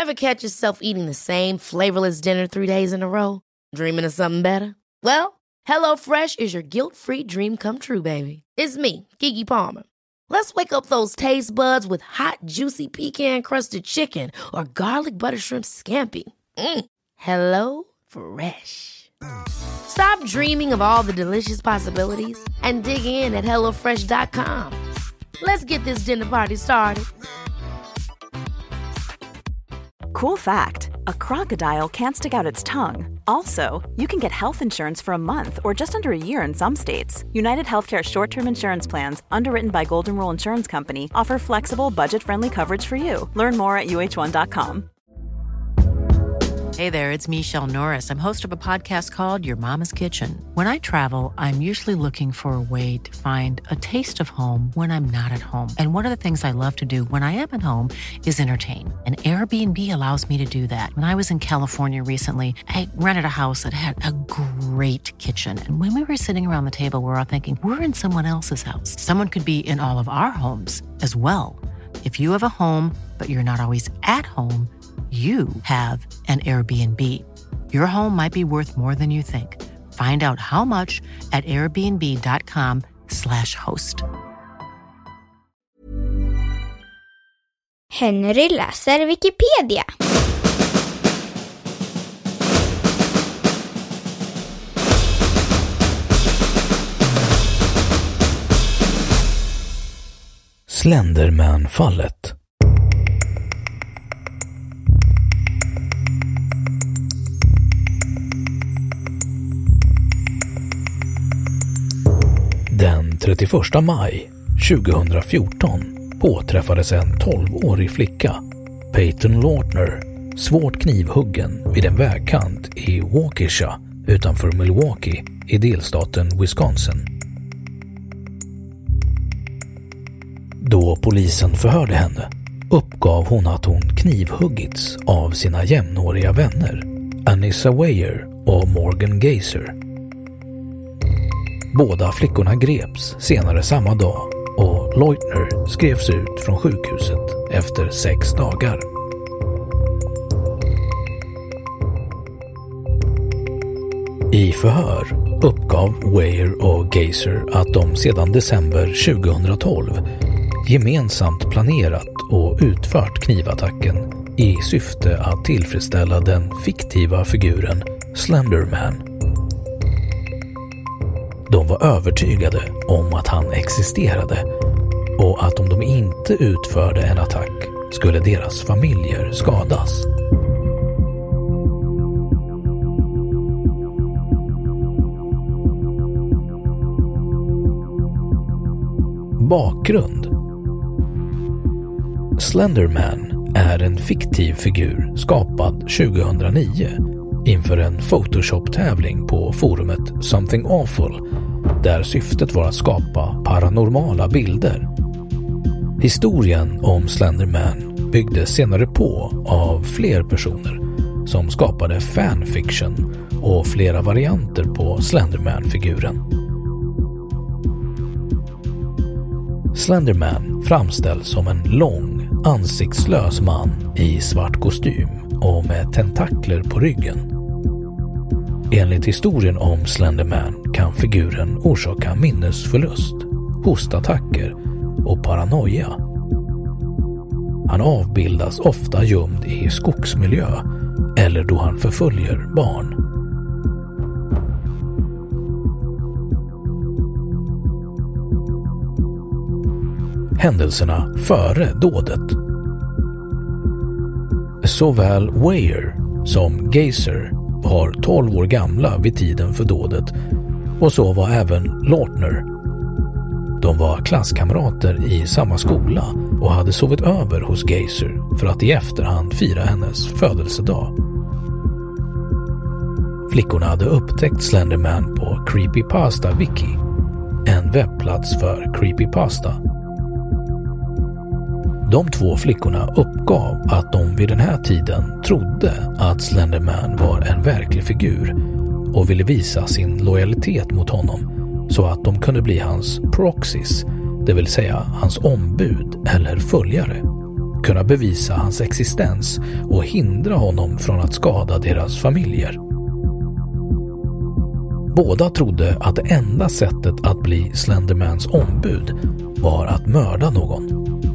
Ever catch yourself eating the same flavorless dinner 3 days in a row? Dreaming of something better? Well, HelloFresh is your guilt-free dream come true, baby. It's me, Keke Palmer. Let's wake up those taste buds with hot, juicy pecan-crusted chicken or garlic butter shrimp scampi. Hello Fresh. Stop dreaming of all the delicious possibilities and dig in at HelloFresh.com. Let's get this dinner party started. Cool fact, a crocodile can't stick out its tongue. Also, you can get health insurance for a month or just under a year in some states. United Healthcare short-term insurance plans, underwritten by Golden Rule Insurance Company, offer flexible, budget-friendly coverage for you. Learn more at UH1.com. Hey there, it's Michelle Norris. I'm host of a podcast called Your Mama's Kitchen. When I travel, I'm usually looking for a way to find a taste of home when I'm not at home. And one of the things I love to do when I am at home is entertain. And Airbnb allows me to do that. When I was in California recently, I rented a house that had a great kitchen. And when we were sitting around the table, we were all thinking, we're in someone else's house. Someone could be in all of our homes as well. If you have a home, but you're not always at home, you have an Airbnb. Your home might be worth more than you think. Find out how much at airbnb.com/host. Henry läser Wikipedia. Slenderman-fallet. Den 31 maj 2014 påträffades en 12-årig flicka, Peyton Lautner, svårt knivhuggen vid en vägkant i Waukesha utanför Milwaukee i delstaten Wisconsin. Då polisen förhörde henne uppgav hon att hon knivhuggits av sina jämnåriga vänner Anissa Weier och Morgan Geyser. Båda flickorna greps senare samma dag och Lautner skrevs ut från sjukhuset efter 6 dagar. I förhör uppgav Weier och Geyser att de sedan december 2012 gemensamt planerat och utfört knivattacken i syfte att tillfredsställa den fiktiva figuren Slenderman. De var övertygade om att han existerade och att om de inte utförde en attack skulle deras familjer skadas. Bakgrund. Slenderman är en fiktiv figur skapad 2009 inför en Photoshop-tävling på forumet Something Awful, där syftet var att skapa paranormala bilder. Historien om Slenderman byggdes senare på av fler personer som skapade fanfiction och flera varianter på Slenderman-figuren. Slenderman framställs som en lång, ansiktslös man i svart kostym och med tentakler på ryggen. Enligt historien om Slenderman kan figuren orsaka minnesförlust, hostattacker och paranoia. Han avbildas ofta gömd i skogsmiljö eller då han förföljer barn. Händelserna före dådet. Såväl Weier som Geyser var 12 år gamla vid tiden för dådet och så var även Lautner. De var klasskamrater i samma skola och hade sovit över hos Geyser för att i efterhand fira hennes födelsedag. Flickorna hade upptäckt Slenderman på Creepypasta Wiki, en webbplats för creepypasta. De 2 flickorna uppgav att de vid den här tiden trodde att Slenderman var en verklig figur och ville visa sin lojalitet mot honom så att de kunde bli hans proxies, det vill säga hans ombud eller följare. kunna bevisa hans existens och hindra honom från att skada deras familjer. Båda trodde att det enda sättet att bli Slendermans ombud var att mörda någon.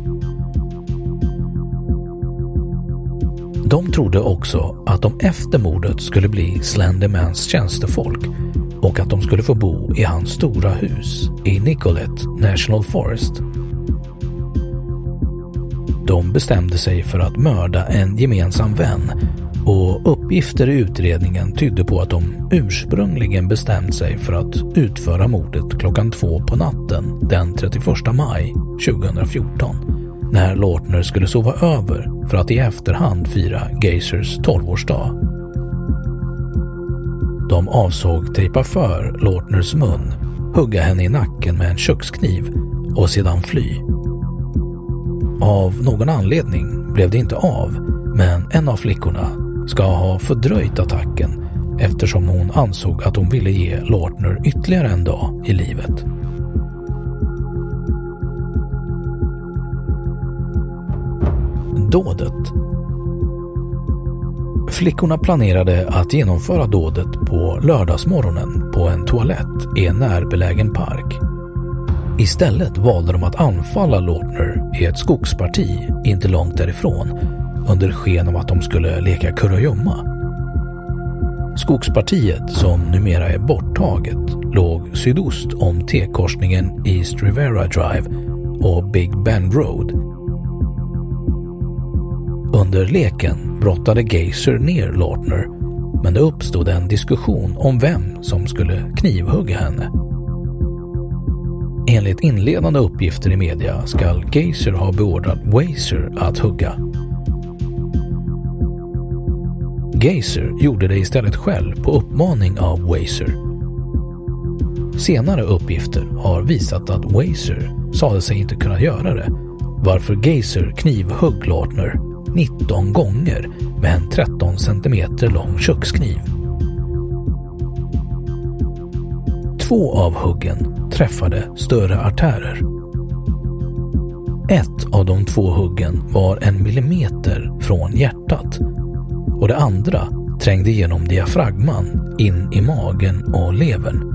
De trodde också att de efter mordet skulle bli Slendermans tjänstefolk och att de skulle få bo i hans stora hus i Nicolet National Forest. De bestämde sig för att mörda en gemensam vän och uppgifter i utredningen tydde på att de ursprungligen bestämt sig för att utföra mordet klockan 2 på natten den 31 maj 2014 när Lautner skulle sova över för att i efterhand fira Geisers 12-årsdag. De avsåg tejpa för Lautners mun, hugga henne i nacken med en kökskniv och sedan fly. Av någon anledning blev det inte av, men en av flickorna ska ha fördröjt attacken eftersom hon ansåg att hon ville ge Lautner ytterligare en dag i livet. Dådet. Flickorna planerade att genomföra dådet på lördagsmorgonen på en toalett i en närbelägen park. Istället valde de att anfalla Lautner i ett skogsparti inte långt därifrån under sken av att de skulle leka kurragömma. Skogspartiet, som numera är borttaget, låg sydost om T-korsningen East Rivera Drive och Big Bend Road. Under leken brottade Geiser ner Lautner, men det uppstod en diskussion om vem som skulle knivhugga henne. Enligt inledande uppgifter i media ska Geiser ha beordrat Weiser att hugga. Geiser gjorde det istället själv på uppmaning av Weiser. Senare uppgifter har visat att Weiser sade sig inte kunna göra det, varför Geiser knivhugg Lautner 19 gånger med en 13 cm lång kökskniv. 2 av huggen träffade större artärer. Ett av de 2 huggen var 1 millimeter från hjärtat och det andra trängde genom diafragman in i magen och levern.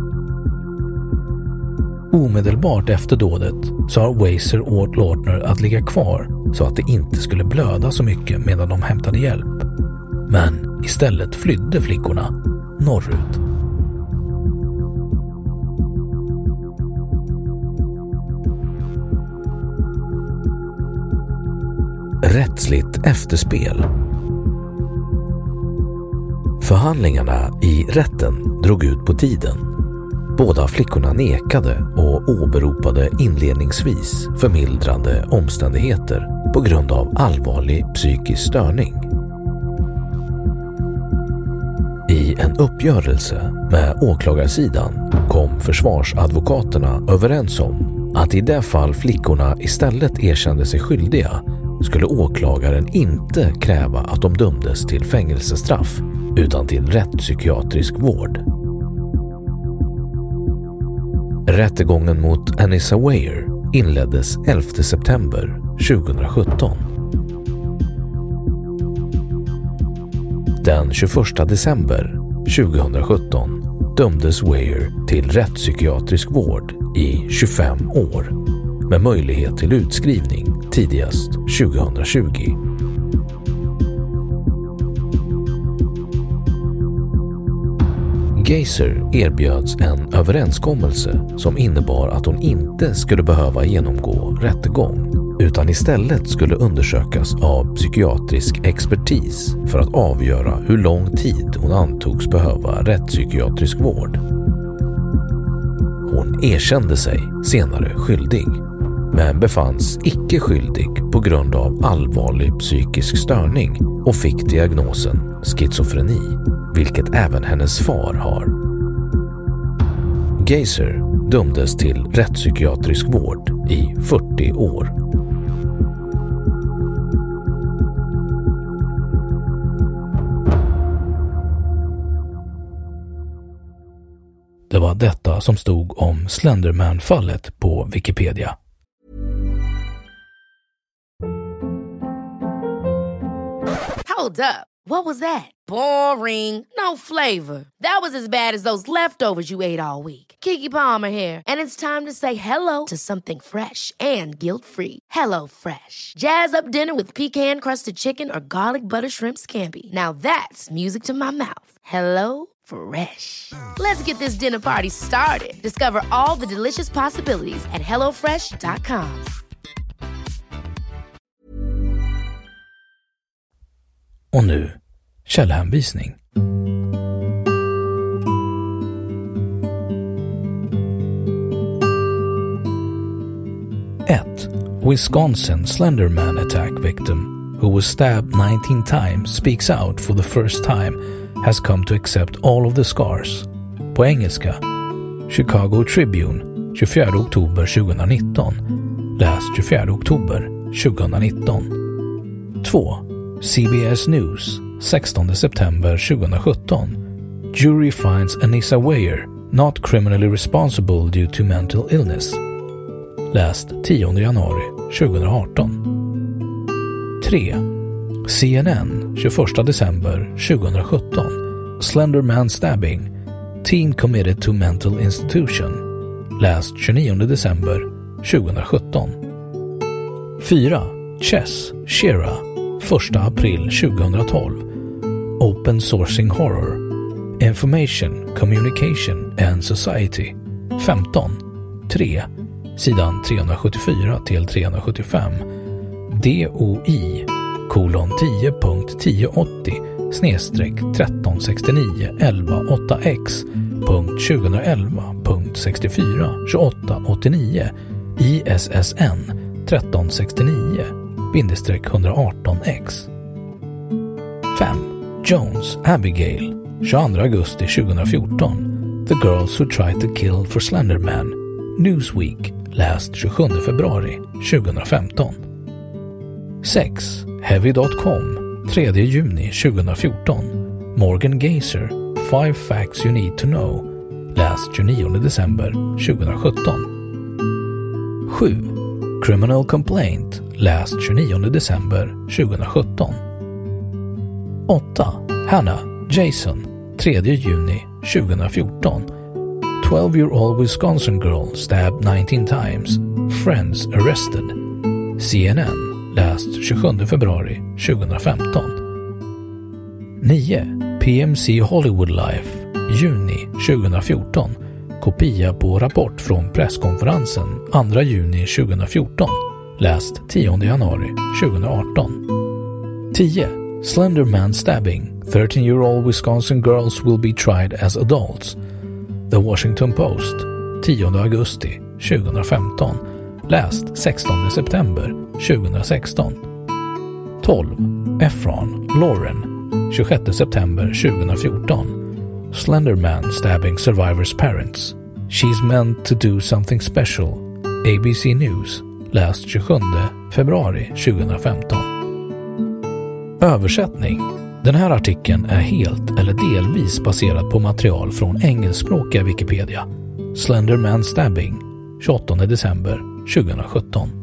Omedelbart efter dådet sa Weiser åt Lautner att ligga kvar så att det inte skulle blöda så mycket medan de hämtade hjälp. Men istället flydde flickorna norrut. Rättsligt efterspel. Förhandlingarna i rätten drog ut på tiden. Båda flickorna nekade och åberopade inledningsvis förmildrande omständigheter på grund av allvarlig psykisk störning. I en uppgörelse med åklagarsidan kom försvarsadvokaterna överens om att i det fall flickorna istället erkände sig skyldiga skulle åklagaren inte kräva att de dömdes till fängelsestraff utan till rättspsykiatrisk vård. Rättegången mot Anissa Weier inleddes 11 september 2017. Den 21 december 2017 dömdes Weier till rättspsykiatrisk vård i 25 år med möjlighet till utskrivning tidigast 2020. Geiser erbjöds en överenskommelse som innebar att hon inte skulle behöva genomgå rättegång utan istället skulle undersökas av psykiatrisk expertis för att avgöra hur lång tid hon antogs behöva rättspsykiatrisk vård. Hon erkände sig senare skyldig, men befanns icke skyldig på grund av allvarlig psykisk störning och fick diagnosen schizofreni, vilket även hennes far har. Geiser dömdes till rättspsykiatrisk vård i 40 år. Det var detta som stod om Slenderman-fallet på Wikipedia. Hold up. What was that? Boring. No flavor. That was as bad as those leftovers you ate all week. Keke Palmer here, and it's time to say hello to something fresh and guilt-free. Hello Fresh. Jazz up dinner with pecan-crusted chicken or garlic butter shrimp scampi. Now that's music to my mouth. Hello Fresh. Let's get this dinner party started. Discover all the delicious possibilities at hellofresh.com. Och nu, källhänvisning. 1. Wisconsin Slenderman attack victim who was stabbed 19 times speaks out for the first time, has come to accept all of the scars. På engelska, Chicago Tribune, 24 oktober 2019. Läs 24 oktober 2019. 2. CBS News, 16 september 2017. Jury finds Anissa Weier not criminally responsible due to mental illness. Läst 10 januari 2018. 3. CNN, 21 december 2017. Slenderman stabbing. Teen committed to mental institution. Läst 29 december 2017. 4. Chess, Shira, 1 april 2012. Open sourcing horror. Information, communication and society. 15. 3. Sidan 374 till 375. DOI:10.1080/136911.642889 ISSN 1369-118X. 5. Jones, Abigail, 22 augusti 2014. The Girls Who Tried to Kill for Slenderman. Newsweek, läst 27 februari 2015. 6. Heavy.com, 3 juni 2014. Morgan Geiser, 5 Facts You Need to Know. Läst 29 december 2017. 7. Criminal Complaint, läst 29 december 2017. 8. Hannah, Jason, 3 juni 2014. 12-year-old Wisconsin girl stabbed 19 times. Friends arrested. CNN, läst 27 februari 2015. 9. PMC Hollywood Life, juni 2014. Kopia på rapport från presskonferensen 2 juni 2014. Läst 10 januari 2018. 10. Slenderman stabbing. 13-year-old Wisconsin girls will be tried as adults. The Washington Post, 10 augusti 2015. Läst 16 september 2016. 12. Efron, Lauren, 26 september 2014. Slenderman stabbing survivor's parents. She's meant to do something special. ABC News, läst 27 februari 2015. Översättning. Den här artikeln är helt eller delvis baserad på material från engelskspråkiga Wikipedia. Slenderman stabbing, 28 december 2017.